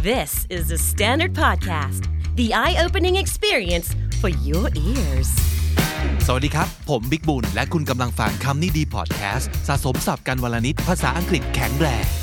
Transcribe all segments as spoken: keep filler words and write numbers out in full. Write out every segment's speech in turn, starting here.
This is the Standard Podcast, the eye-opening experience for your ears. สวัสดีครับผมบิ๊กบุญและคุณกำลังฟังคำนี้ดีพอดแคสต์สะสมศัพท์กันวลนิดภาษาอังกฤษแข็งแรง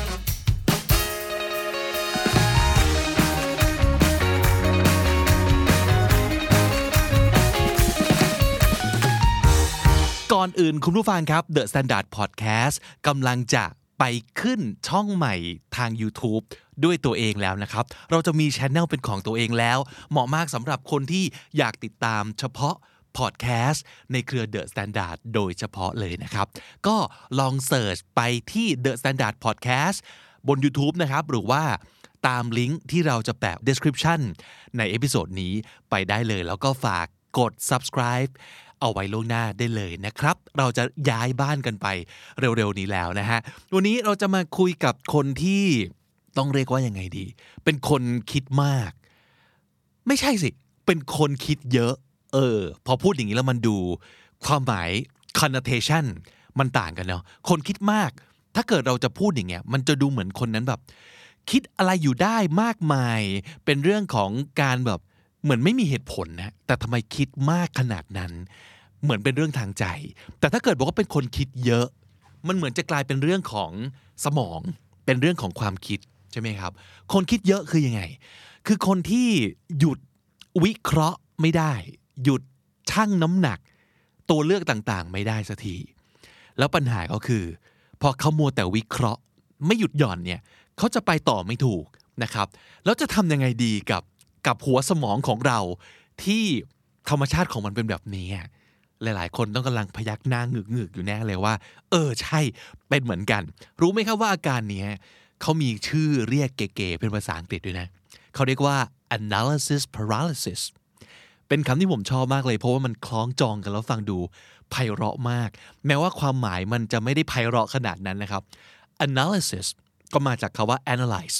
ก่อนอื่นคุณผู้ฟังครับ The Standard Podcast กำลังจะไปขึ้นช่องใหม่ทาง YouTube ด้วยตัวเองแล้วนะครับเราจะมี channel เป็นของตัวเองแล้วเหมาะมากสำหรับคนที่อยากติดตามเฉพาะพอดแคสต์ในเครือ The Standard โดยเฉพาะเลยนะครับก็ลองเสิร์ชไปที่ The Standard Podcast บน YouTube นะครับหรือว่าตามลิงก์ที่เราจะแปะ description ในเอพิโซดนี้ไปได้เลยแล้วก็ฝากกด subscribe เอาไว้ล่วงหน้าได้เลยนะครับเราจะย้ายบ้านกันไปเร็วๆนี้แล้วนะฮะวันนี้เราจะมาคุยกับคนที่ต้องเรียกว่ายังไงดีเป็นคนคิดมากไม่ใช่สิเป็นคนคิดเยอะเออพอพูดอย่างนี้แล้วมันดูความหมาย connotation มันต่างกันเนาะคนคิดมากถ้าเกิดเราจะพูดอย่างเงี้ยมันจะดูเหมือนคนนั้นแบบคิดอะไรอยู่ได้มากมายเป็นเรื่องของการแบบเหมือนไม่มีเหตุผลนะแต่ทำไมคิดมากขนาดนั้นเหมือนเป็นเรื่องทางใจแต่ถ้าเกิดบอกว่าเป็นคนคิดเยอะมันเหมือนจะกลายเป็นเรื่องของสมองเป็นเรื่องของความคิดใช่ไหมครับคนคิดเยอะคือยังไงคือคนที่หยุดวิเคราะห์ไม่ได้หยุดชั่งน้ำหนักตัวเลือกต่างๆไม่ได้สักทีแล้วปัญหาก็คือพอเขามัวแต่วิเคราะห์ไม่หยุดหย่อนเนี่ยเขาจะไปต่อไม่ถูกนะครับแล้วจะทำยังไงดีกับกับหัวสมองของเราที่ธรรมชาติของมันเป็นแบบนี้หลายๆคนต้องกำลังพยักหน้าหงึกๆอยู่แน่เลยว่าเออใช่เป็นเหมือนกันรู้ไหมครับว่าอาการนี้เขามีชื่อเรียกเก๋ๆเป็นภาษาอังกฤษด้วยนะเขาเรียกว่า analysis paralysis เป็นคำที่ผมชอบมากเลยเพราะว่ามันคล้องจองกันแล้วฟังดูไพเราะมากแม้ว่าความหมายมันจะไม่ได้ไพเราะขนาดนั้นนะครับ analysis ก็มาจากคำว่า analyze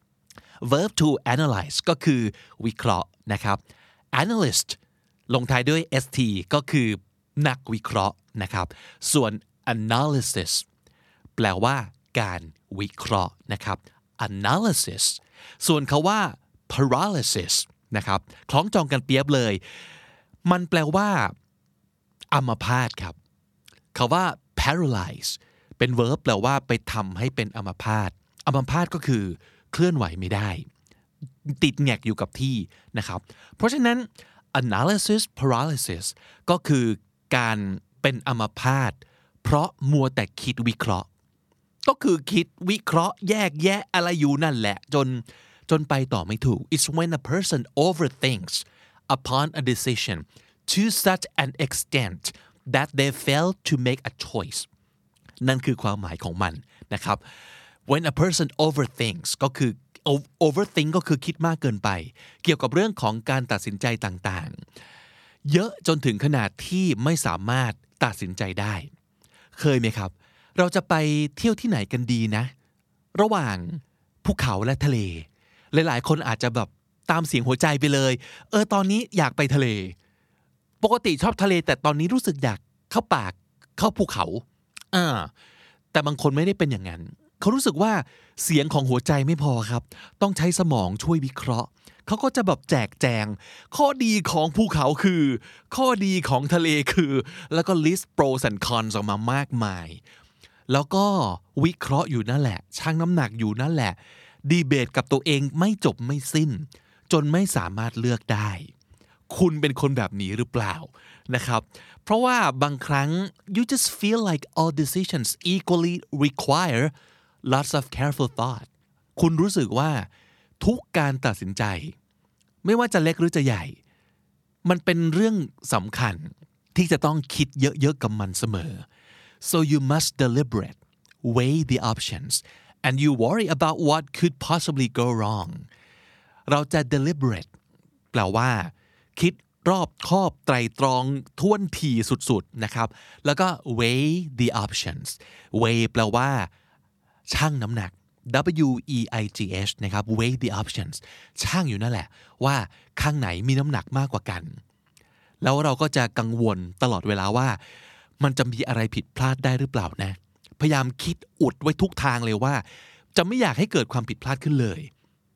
verb to analyze ก็คือวิเคราะห์นะครับ analyst ลงท้ายด้วย st ก็คือนักวิเคราะห์นะครับส่วน analysis แปลว่าการวิเคราะห์นะครับ analysis ส่วนคำว่า paralysis นะครับคล้องจองกันเปียบเลยมันแปลว่าอัมพาตครับคำว่า paralyze เป็น verb แปลว่าไปทำให้เป็นอัมพาตอัมพาตก็คือเคลื่อนไหวไม่ได้ติดแงกอยู่กับที่นะครับเพราะฉะนั้น analysis paralysis ก็คือการเป็นอัมพาตเพราะมัวแต่คิดวิเคราะห์ก็คือคิดวิเคราะห์แยกแยะอะไรอยู่นั่นแหละจนจนไปต่อไม่ถูก It's when a person overthinks upon a decision to such an extent that they fail to make a choice นั่นคือความหมายของมันนะครับ when a person overthinks ก็คือ overthink ก็คือคิดมากเกินไปเกี่ยวกับเรื่องของการตัดสินใจต่างๆเยอะจนถึงขนาดที่ไม่สามารถตัดสินใจได้เคยไหมครับเราจะไปเที่ยวที่ไหนกันดีนะระหว่างภูเขาและทะเลหลายๆคนอาจจะแบบตามเสียงหัวใจไปเลยเออตอนนี้อยากไปทะเลปกติชอบทะเลแต่ตอนนี้รู้สึกอยากเข้าป่าเข้าภูเขาอ่าแต่บางคนไม่ได้เป็นอย่างนั้นเขารู้สึกว่าเสียงของหัวใจไม่พอครับต้องใช้สมองช่วยวิเคราะห์เขาก็จะแบบแจกแจงข้อดีของภูเขาคือข้อดีของทะเลคือแล้วก็ list pros and cons ออกมามากมายแล้วก็วิเคราะห์อยู่นั่นแหละชั่งน้ำหนักอยู่นั่นแหละดีเบตกับตัวเองไม่จบไม่สิ้นจนไม่สามารถเลือกได้คุณเป็นคนแบบนี้หรือเปล่านะครับเพราะว่าบางครั้ง you just feel like all decisions equally require lots of careful thought คุณรู้สึกว่าทุกการตัดสินใจไม่ว่าจะเล็กหรือจะใหญ่มันเป็นเรื่องสำคัญที่จะต้องคิดเยอะๆกับมันเสมอ so you must deliberate weigh the options and you worry about what could possibly go wrong เราจะ deliberate แปลว่าคิดรอบคอบไตร่ตรองท่วนทีสุดๆนะครับแล้วก็ weigh the options weigh แปลว่าชั่งน้ำหนัก W E I G H นะครับ weigh the options ชั่งอยู่นั่นแหละว่าข้างไหนมีน้ำหนักมากกว่ากันแล้วเราก็จะกังวลตลอดเวลาว่ามันจะมีอะไรผิดพลาดได้หรือเปล่านะพยายามคิดอุดไว้ทุกทางเลยว่าจะไม่อยากให้เกิดความผิดพลาดขึ้นเลย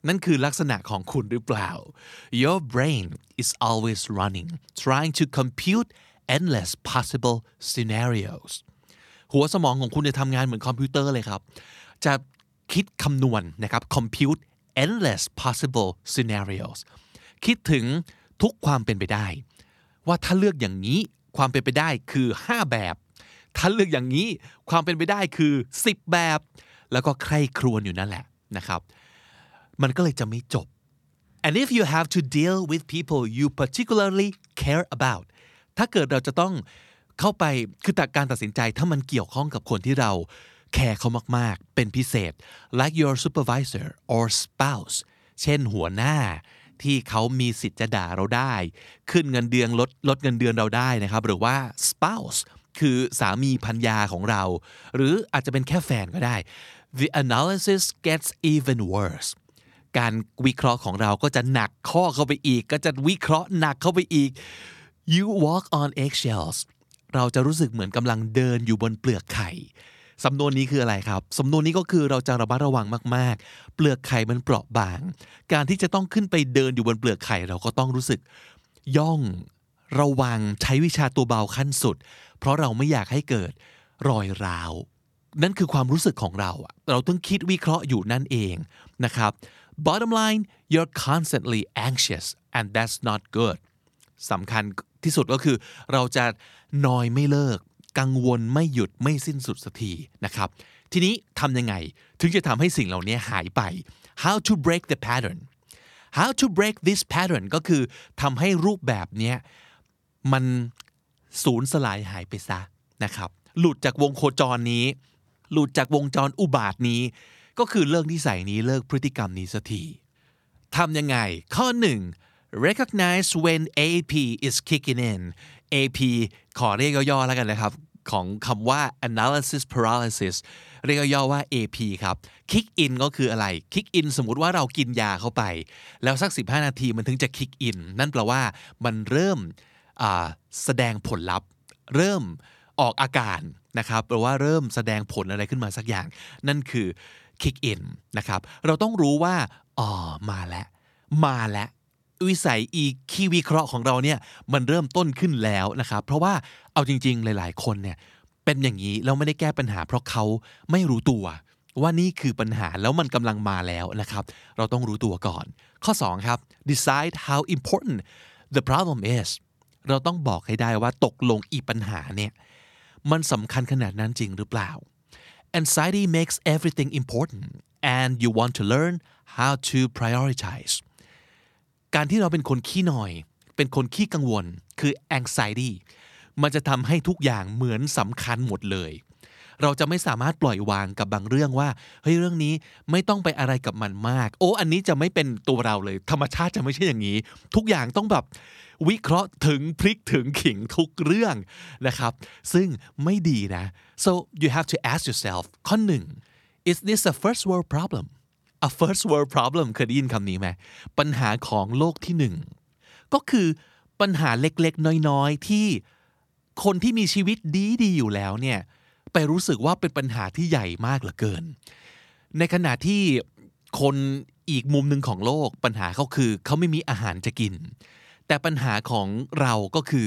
นั่นคือลักษณะของคุณหรือเปล่า Your brain is always running trying to compute endless possible scenarios หัวสมองของคุณจะทำงานเหมือนคอมพิวเตอร์เลยครับจะคิดคำนวณนะครับ compute endless possible scenarios คิดถึงทุกความเป็นไปได้ว่าถ้าเลือกอย่างนี้ความเป็นไปได้คือห้าแบบถ้าเลือกอย่างนี้ความเป็นไปได้คือสิบแบบแล้วก็ใคร่ครวญอยู่นั่นแหละนะครับมันก็เลยจะไม่จบ and if you have to deal with people you particularly care about ถ้าเกิดเราจะต้องเข้าไปคือแต่การตัดสินใจถ้ามันเกี่ยวข้องกับคนที่เราแคร์เขามากๆเป็นพิเศษ like your supervisor or spouse เช่นหัวหน้าที่เขามีสิทธิ์จะด่าเราได้ขึ้นเงินเดือนลดลดเงินเดือนเราได้นะครับหรือว่า spouse คือสามีภรรยาของเราหรืออาจจะเป็นแค่แฟนก็ได้ the analysis gets even worse การวิเคราะห์ของเราก็จะหนักข้อเข้าไปอีกก็จะวิเคราะห์หนักเข้าไปอีก you walk on eggshells เราจะรู้สึกเหมือนกำลังเดินอยู่บนเปลือกไข่สำนวนนี้คืออะไรครับสำนวนนี้ก็คือเราจะระมัดระวังมากๆเปลือกไข่มันเปราะบางการที่จะต้องขึ้นไปเดินอยู่บนเปลือกไข่เราก็ต้องรู้สึกย่องระวังใช้วิชาตัวเบาขั้นสุดเพราะเราไม่อยากให้เกิดรอยร้าวนั่นคือความรู้สึกของเราเราต้องคิดวิเคราะห์อยู่นั่นเองนะครับ bottom line you're constantly anxious and that's not good สำคัญที่สุดก็คือเราจะนอยไม่เลิกกังวลไม่หยุดไม่สิ้นสุดสักทีนะครับทีนี้ทำยังไงถึงจะทำให้สิ่งเหล่านี้หายไป how to break the pattern how to break this pattern ก็คือทำให้รูปแบบนี้มันสูญสลายหายไปซะนะครับหลุดจากวงโคจรนี้หลุดจากวงจรอุบาทนี้ก็คือเลิกนิสัยนี้เลิกพฤติกรรมนี้สักทีทำยังไงข้อหนึ่ง recognize when เอ พี is kicking in เอ พี ขอเรียกย่อๆแล้วกันนะครับของคำว่า analysis paralysis เรียกย่อว่า เอ พี ครับ kick in ก็คืออะไร kick in สมมุติว่าเรากินยาเข้าไปแล้วสักสิบห้านาทีมันถึงจะ kick in นั่นแปลว่ามันเริ่มแสดงผลลัพธ์เริ่มออกอาการนะครับแปลว่าเริ่มแสดงผลอะไรขึ้นมาสักอย่างนั่นคือ kick in นะครับเราต้องรู้ว่าอ๋อมาแล้วมาแล้ววิสัยอีคีวิเคราะห์ของเราเนี่ยมันเริ่มต้นขึ้นแล้วนะครับเพราะว่าเอาจริงๆหลายๆคนเนี่ยเป็นอย่างนี้แล้วไม่ได้แก้ปัญหาเพราะเขาไม่รู้ตัวว่านี่คือปัญหาแล้วมันกำลังมาแล้วนะครับเราต้องรู้ตัวก่อนข้อสองครับ decide how important the problem is เราต้องบอกให้ได้ว่าตกลงอีปัญหาเนี่ยมันสำคัญขนาดนั้นจริงหรือเปล่า anxiety makes everything important and you want to learn how to prioritizeการที่เราเป็นคนขี้หน่อยเป็นคนขี้กังวลคือ anxiety มันจะทำให้ทุกอย่างเหมือนสำคัญหมดเลยเราจะไม่สามารถปล่อยวางกับบางเรื่องว่าเฮ้ยเรื่องนี้ไม่ต้องไปอะไรกับมันมากโอ้อันนี้จะไม่เป็นตัวเราเลยธรรมชาติจะไม่ใช่อย่างนี้ทุกอย่างต้องแบบวิเคราะห์ถึงพลิกถึงขิงทุกเรื่องนะครับซึ่งไม่ดีนะ so you have to ask yourself ข้อหนึ่ง is this a first world problem a first world problem เคยได้ยินคำนี้ไหมปัญหาของโลกที่หนึ่งก็คือปัญหาเล็กๆน้อยๆที่คนที่มีชีวิตดีๆอยู่แล้วเนี่ยไปรู้สึกว่าเป็นปัญหาที่ใหญ่มากเหลือเกินในขณะที่คนอีกมุมหนึ่งของโลกปัญหาเขาคือเขาไม่มีอาหารจะกินแต่ปัญหาของเราก็คือ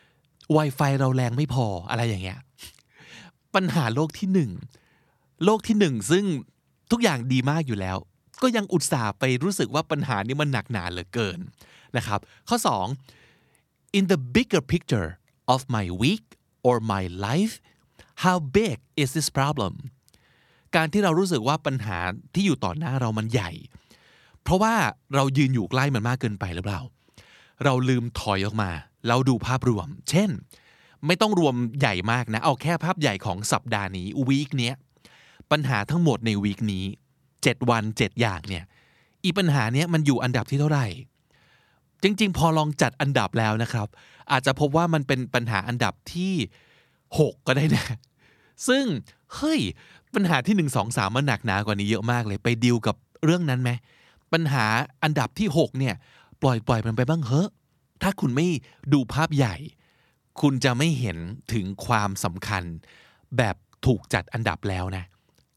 Wi-Fi เราแรงไม่พออะไรอย่างเงี้ยปัญหาโลกที่หนึ่งโลกที่หนึ่งซึ่งทุกอย่างดีมากอยู่แล้วก็ยังอุตส่าห์ไปรู้สึกว่าปัญหานี้มันหนักหนาเหลือเกินนะครับข้อสอง in the bigger picture of my week or my life how big is this problem การที่เรารู้สึกว่าปัญหาที่อยู่ต่อหน้าเรามันใหญ่เพราะว่าเรายืนอยู่ใกล้มันมากเกินไปหรือเปล่าเราลืมถอยออกมาเราดูภาพรวมเช่นไม่ต้องรวมใหญ่มากนะเอาแค่ภาพใหญ่ของสัปดาห์นี้วีคเนี้ยปัญหาทั้งหมดในวีคนี้เจ็ดวันเจ็ดอย่างเนี่ยอีปัญหาเนี้ยมันอยู่อันดับที่เท่าไหร่จริงๆพอลองจัดอันดับแล้วนะครับอาจจะพบว่ามันเป็นปัญหาอันดับที่หกก็ได้นะซึ่งเฮ้ยปัญหาที่หนึ่ง สอง สามมันหนักหนากว่านี้เยอะมากเลยไปดีลกับเรื่องนั้นไหมปัญหาอันดับที่หกเนี่ยปล่อยปล่อยมันไปบ้างเถอะถ้าคุณไม่ดูภาพใหญ่คุณจะไม่เห็นถึงความสำคัญแบบถูกจัดอันดับแล้วนะ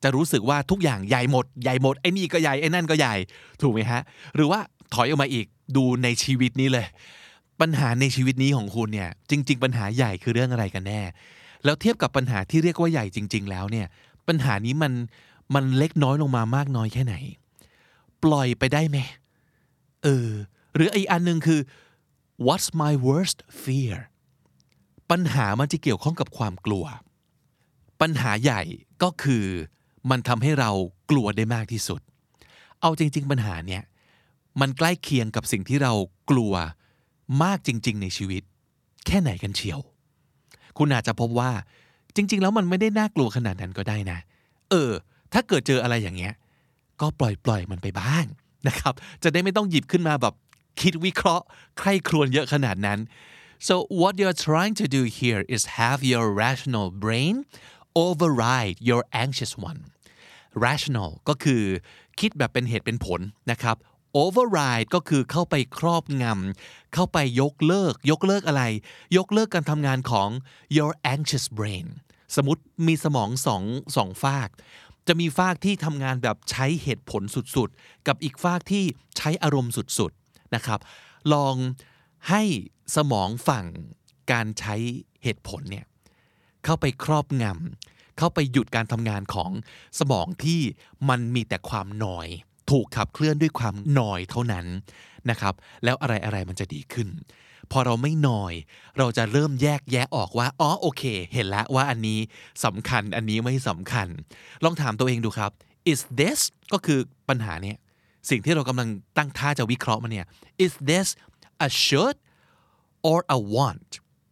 จะรู้สึกว่าทุกอย่างใหญ่หมดใหญ่หมดไอ้นี่ก็ใหญ่ไอ้นั่นก็ใหญ่ถูกไหมฮะหรือว่าถอยออกมาอีกดูในชีวิตนี้เลยปัญหาในชีวิตนี้ของคุณเนี่ยจริงๆปัญหาใหญ่คือเรื่องอะไรกันแน่แล้วเทียบกับปัญหาที่เรียกว่าใหญ่จริงๆแล้วเนี่ยปัญหานี้มันมันเล็กน้อยลงมามากน้อยแค่ไหนปล่อยไปได้ไหมเออหรืออีกอันนึงคือ what's my worst fear ปัญหามันจะเกี่ยวข้องกับความกลัวปัญหาใหญ่ก็คือมันทำให้เรากลัวได้มากที่สุดเอาจริงๆปัญหาเนี่ยมันใกล้เคียงกับสิ่งที่เรากลัวมากจริงๆในชีวิตแค่ไหนกันเชียวคุณอาจจะพบว่าจริงๆแล้วมันไม่ได้น่ากลัวขนาดนั้นก็ได้นะเออถ้าเกิดเจออะไรอย่างเงี้ยก็ปล่อยๆมันไปบ้างนะครับจะได้ไม่ต้องหยิบขึ้นมาแบบคิดวิเคราะห์ใคร่ครวญเยอะขนาดนั้น so what you're trying to do here is have your rational brain override your anxious one rational ก็คือคิดแบบเป็นเหตุเป็นผลนะครับ override ก็คือเข้าไปครอบงำเข้าไปยกเลิกยกเลิกอะไรยกเลิกการทำงานของ your anxious brain สมมุติมีสมองสองสองฝากจะมีฝากที่ทำงานแบบใช้เหตุผลสุดๆกับอีกฝากที่ใช้อารมณ์สุดๆนะครับลองให้สมองฝั่งการใช้เหตุผลเนี่ยเข้าไปครอบงำเข้าไปหยุดการทำงานของสมองที่มันมีแต่ความหน่อยถูกขับเคลื่อนด้วยความหน่อยเท่านั้นนะครับแล้วอะไรๆมันจะดีขึ้นพอเราไม่หน่อยเราจะเริ่มแยกแยะออกว่าอ๋อโอเคเห็นแล้วว่าอันนี้สำคัญอันนี้ไม่สำคัญลองถามตัวเองดูครับ is this ก็คือปัญหาเนี่ยสิ่งที่เรากำลังตั้งท่าจะวิเคราะห์มันเนี่ย is this a should or a want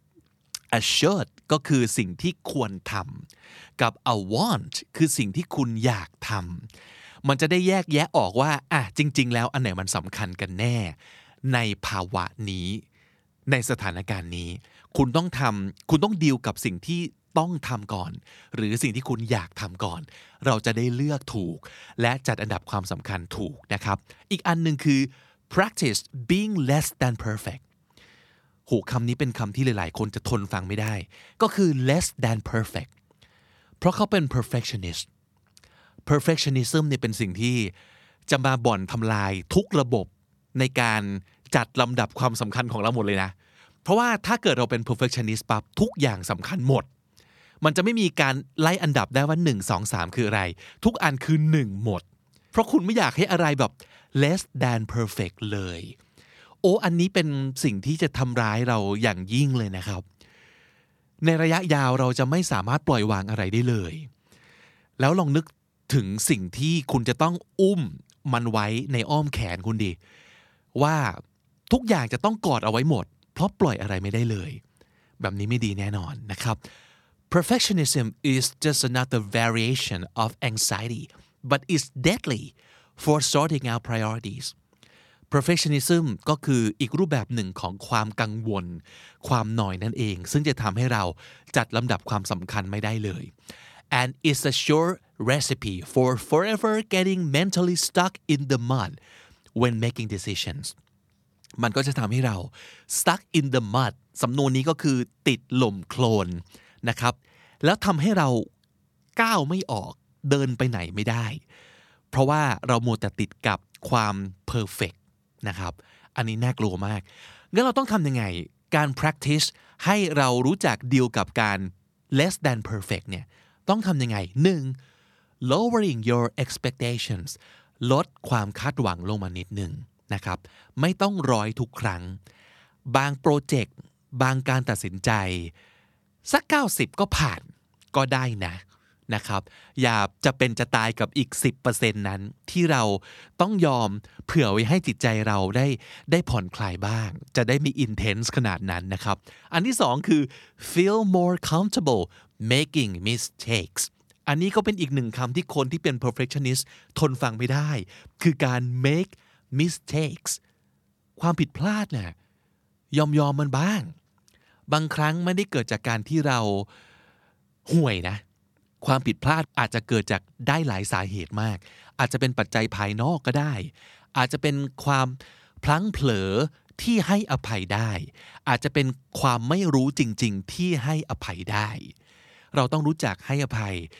a should ก็คือสิ่งที่ควรทำกับ a want คือสิ่งที่คุณอยากทำมันจะได้แยกแยะออกว่าอ่ะจริงๆแล้วอันไหนมันสำคัญกันแน่ในภาวะนี้ในสถานการณ์นี้คุณต้องทำคุณต้องดีลกับสิ่งที่ต้องทำก่อนหรือสิ่งที่คุณอยากทำก่อนเราจะได้เลือกถูกและจัดอันดับความสำคัญถูกนะครับอีกอันหนึ่งคือ practice being less than perfect โหคำนี้เป็นคำที่หลายๆคนจะทนฟังไม่ได้ก็คือ less than perfect เพราะเขาเป็น perfectionist perfectionism เนี่ยเป็นสิ่งที่จะมาบ่อนทำลายทุกระบบในการจัดลำดับความสำคัญของเราหมดเลยนะเพราะว่าถ้าเกิดเราเป็น perfectionist ปั๊บทุกอย่างสำคัญหมดมันจะไม่มีการไล่อันดับได้ว่าหนึ่ง สอง สามคืออะไรทุกอันคือหนึ่งหมดเพราะคุณไม่อยากให้อะไรแบบ less than perfect เลยโอ้อันนี้เป็นสิ่งที่จะทำร้ายเราอย่างยิ่งเลยนะครับในระยะยาวเราจะไม่สามารถปล่อยวางอะไรได้เลยแล้วลองนึกถึงสิ่งที่คุณจะต้องอุ้มมันไว้ในอ้อมแขนคุณดิว่าทุกอย่างจะต้องกอดเอาไว้หมดเพราะปล่อยอะไรไม่ได้เลยแบบนี้ไม่ดีแน่นอนนะครับ Perfectionism is just another variation of anxiety but it's deadly for sorting out priorities Perfectionism ก็คืออีกรูปแบบหนึ่งของความกังวลความหน่อยนั่นเองซึ่งจะทำให้เราจัดลำดับความสำคัญไม่ได้เลย and it's a sure recipe for forever getting mentally stuck in the mud when making decisions มันก็จะทำให้เรา stuck in the mud สำนวนนี้ก็คือติดหล่มโคลนนะครับแล้วทำให้เราก้าวไม่ออกเดินไปไหนไม่ได้เพราะว่าเรามัวแต่ติดกับความ perfect นะครับอันนี้น่ากลัวมากงั้นเราต้องทำยังไงการ practice ให้เรารู้จักดีลกับการ less than perfect เนี่ยต้องทำยังไงหนึ่ง lowering your expectations ลดความคาดหวังลงมานิดนึงนะครับไม่ต้องร้อยทุกครั้งบางโปรเจกต์บางการตัดสินใจสักเก้าสิบก็ผ่านก็ได้นะนะครับอย่าจะเป็นจะตายกับอีก สิบเปอร์เซ็นต์ นั้นที่เราต้องยอมเผื่อไว้ให้จิตใจเราได้ได้ผ่อนคลายบ้างจะได้มี intense ขนาดนั้นนะครับอันที่สองคือ feel more comfortable making mistakes อันนี้ก็เป็นอีกหนึ่งคำที่คนที่เป็น perfectionist ทนฟังไม่ได้คือการ make mistakes ความผิดพลาดเนี่ยยอมยอมมันบ้างบางครั้งไม่ได้เกิดจากการที่เราห่วยนะความผิดพลาดอาจจะเกิดจากได้หลายสาเหตุมากอาจจะเป็นปัจจัยภายนอกก็ได้อาจจะเป็นความพลั้งเผลอที่ให้อภัยได้อาจจะเป็นความไม่รู้จริงๆที่ให้อภัยได้เราต้องรู้จักให้อภัย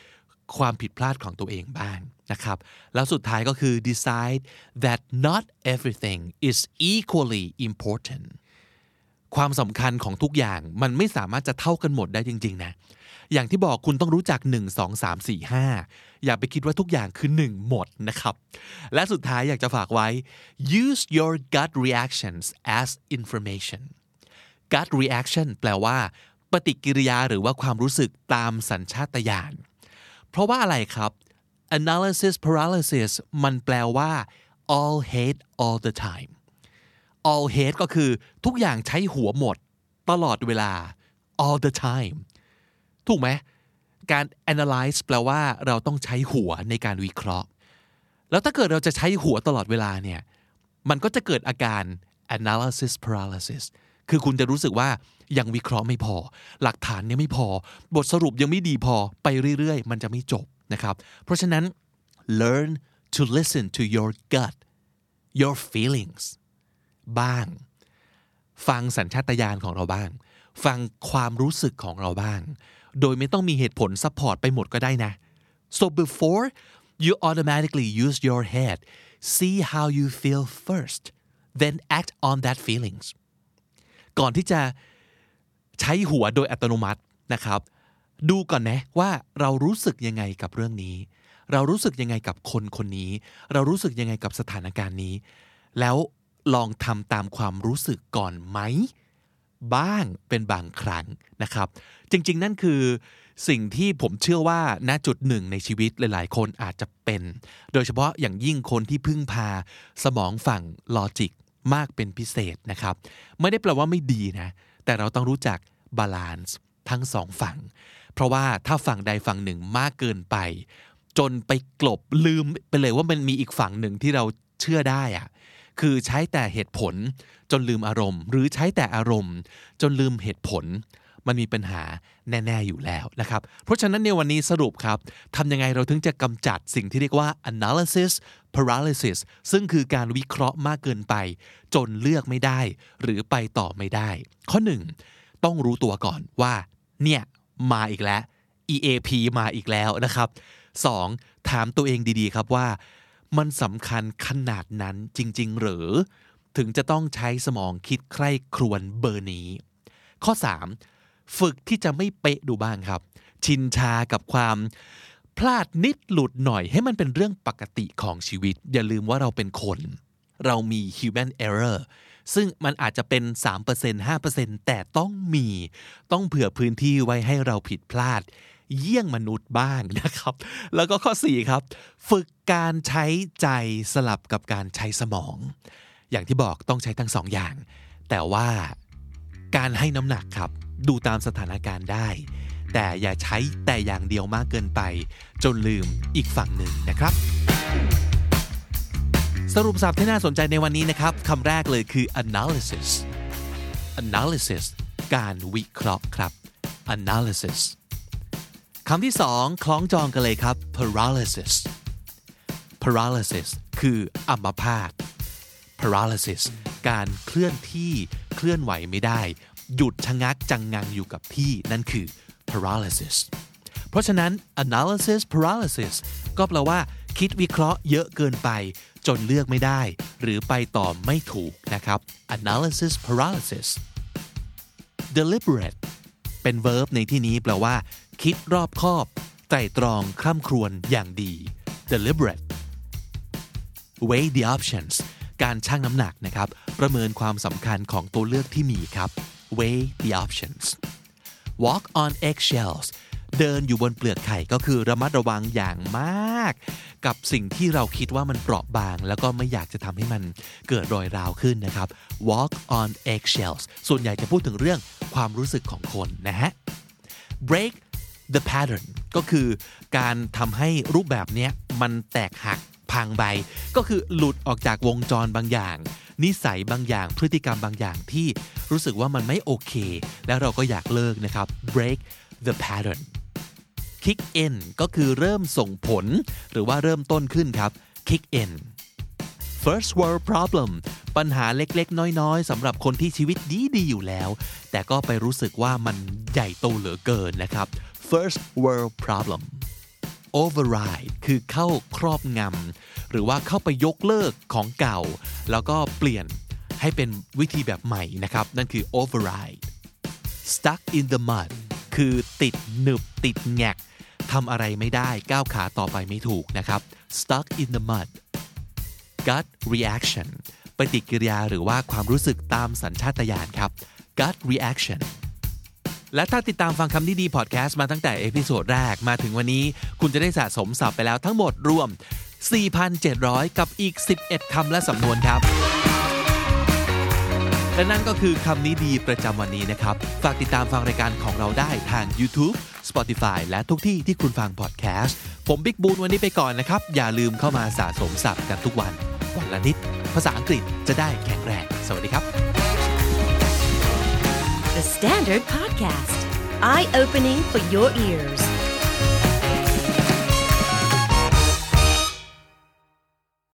ความผิดพลาดของตัวเองบ้างนะครับแล้วสุดท้ายก็คือ decide that not everything is equally important ความสำคัญของทุกอย่างมันไม่สามารถจะเท่ากันหมดได้จริงๆนะอย่างที่บอกคุณต้องรู้จักหนึ่ง สอง สาม สี่ ห้าอย่าไปคิดว่าทุกอย่างคือหนึ่งหมดนะครับและสุดท้ายอยากจะฝากไว้ use your gut reactions as information gut reaction แปลว่าปฏิกิริยาหรือว่าความรู้สึกตามสัญชาตญาณเพราะว่าอะไรครับ analysis paralysis มันแปลว่า all hate all the time all hate ก็คือทุกอย่างใช้หัวหมดตลอดเวลา all the time ถูกไหมการ analyze แปลว่าเราต้องใช้หัวในการวิเคราะห์แล้วถ้าเกิดเราจะใช้หัวตลอดเวลาเนี่ยมันก็จะเกิดอาการ analysis paralysis คือคุณจะรู้สึกว่ายังวิเคราะห์ไม่พอหลักฐานยังไม่พอบทสรุปยังไม่ดีพอไปเรื่อยๆมันจะไม่จบนะครับเพราะฉะนั้น learn to listen to your gut your feelings บ้างฟังสัญชาตญาณของเราบ้างฟังความรู้สึกของเราบ้างโดยไม่ต้องมีเหตุผลซัพพอร์ตไปหมดก็ได้นะ so before you automatically use your head see how you feel first then act on that feelings ก่อนที่จะใช้หัวโดยอัตโนมัตินะครับดูก่อนนะว่าเรารู้สึกยังไงกับเรื่องนี้เรารู้สึกยังไงกับคนคนนี้เรารู้สึกยังไงกับสถานการณ์นี้แล้วลองทำตามความรู้สึกก่อนไหมบ้างเป็นบางครั้งนะครับจริงๆนั่นคือสิ่งที่ผมเชื่อว่าณจุดหนึ่งในชีวิตหลายๆคนอาจจะเป็นโดยเฉพาะอย่างยิ่งคนที่พึ่งพาสมองฝั่งลอจิกมากเป็นพิเศษนะครับไม่ได้แปลว่าไม่ดีนะแต่เราต้องรู้จักบาลานซ์ทั้งสองฝั่งเพราะว่าถ้าฝั่งใดฝั่งหนึ่งมากเกินไปจนไปกลบลืมไปเลยว่ามันมีอีกฝั่งหนึ่งที่เราเชื่อได้อะคือใช้แต่เหตุผลจนลืมอารมณ์หรือใช้แต่อารมณ์จนลืมเหตุผลมันมีปัญหาแน่ๆอยู่แล้วนะครับเพราะฉะนั้นในวันนี้สรุปครับทำยังไงเราถึงจะกำจัดสิ่งที่เรียกว่า analysis paralysis ซึ่งคือการวิเคราะห์มากเกินไปจนเลือกไม่ได้หรือไปต่อไม่ได้ข้อหนึ่งต้องรู้ตัวก่อนว่าเนี่ยมาอีกแล้ว อี เอ พี มาอีกแล้วนะครับสองถามตัวเองดีๆครับว่ามันสำคัญขนาดนั้นจริงๆหรือถึงจะต้องใช้สมองคิดใคร่ครวญเบอร์นี้ข้อสามฝึกที่จะไม่เป๊ะดูบ้างครับชินชากับความพลาดนิดหลุดหน่อยให้มันเป็นเรื่องปกติของชีวิตอย่าลืมว่าเราเป็นคนเรามี human error ซึ่งมันอาจจะเป็น สามเปอร์เซ็นต์ ห้าเปอร์เซ็นต์ แต่ต้องมีต้องเผื่อพื้นที่ไว้ให้เราผิดพลาดเยี่ยงมนุษย์บ้างนะครับแล้วก็ข้อสี่ครับฝึกการใช้ใจสลับกับการใช้สมองอย่างที่บอกต้องใช้ทั้งสองอย่างแต่ว่าการให้น้ำหนักครับดูตามสถานการณ์ได้แต่อย่าใช้แต่อย่างเดียวมากเกินไปจนลืมอีกฝั่งหนึ่งนะครับสรุปศัพท์ที่น่าสนใจในวันนี้นะครับคำแรกเลยคือ analysis analysis การวิเคราะห์ครับ analysis คำที่สองคล้องจองกันเลยครับ paralysis paralysis คืออัมพาต paralysis การเคลื่อนที่เคลื่อนไหวไม่ได้หยุดชะงักจังงังอยู่กับที่นั่นคือ paralysis เพราะฉะนั้น analysis paralysis ก็แปลว่าคิดวิเคราะห์เยอะเกินไปจนเลือกไม่ได้หรือไปต่อไม่ถูกนะครับ analysis paralysis deliberate เป็น verb ในที่นี้แปลว่าคิดรอบคอบไตร่ตรองคร่ำครวญอย่างดี deliberate weigh the options การชั่งน้ำหนักนะครับประเมินความสำคัญของตัวเลือกที่มีครับ weigh the options walk on eggshells เดินอยู่บนเปลือกไข่ก็คือระมัดระวังอย่างมากกับสิ่งที่เราคิดว่ามันเปราะบางแล้วก็ไม่อยากจะทำให้มันเกิดรอยร้าวขึ้นนะครับ walk on eggshells ส่วนใหญ่จะพูดถึงเรื่องความรู้สึกของคนนะฮะ break the pattern ก็คือการทำให้รูปแบบนี้มันแตกหักพังไปก็คือหลุดออกจากวงจรบางอย่างนิสัยบางอย่างพฤติกรรมบางอย่างที่รู้สึกว่ามันไม่โอเคแล้วเราก็อยากเลิกนะครับ break the pattern kick in ก็คือเริ่มส่งผลหรือว่าเริ่มต้นขึ้นครับ kick in first world problem ปัญหาเล็กๆน้อยๆสำหรับคนที่ชีวิตดีๆอยู่แล้วแต่ก็ไปรู้สึกว่ามันใหญ่โตเหลือเกินนะครับ first world problem override คือเข้าครอบงำหรือว่าเข้าไปยกเลิกของเก่าแล้วก็เปลี่ยนให้เป็นวิธีแบบใหม่นะครับนั่นคือ override stuck in the mud คือติดหนึบติดแงกทำอะไรไม่ได้ก้าวขาต่อไปไม่ถูกนะครับ stuck in the mud gut reaction ปฏิกิริยาหรือว่าความรู้สึกตามสัญชาตญาณครับ gut reaction และถ้าติดตามฟังคำนี้ดีพอดแคสต์มาตั้งแต่เอพิโซดแรกมาถึงวันนี้คุณจะได้สะสมศัพท์ไปแล้วทั้งหมดรวม สี่พันเจ็ดร้อย กับอีกสิบเอ็ดคำและสำนวนครับและนั่นก็คือคำนี้ดีประจำวันนี้นะครับฝากติดตามฟังรายการของเราได้ทาง YouTube Spotify และทุกที่ที่คุณฟังพอดแคสต์ผมบิ๊กบูนวันนี้ไปก่อนนะครับอย่าลืมเข้ามาสะสมศัพท์กันทุกวันวันละนิดภาษาอังกฤษจะได้แข็งแรงสวัสดีครับ The Standard Podcast Eye Opening for Your Ears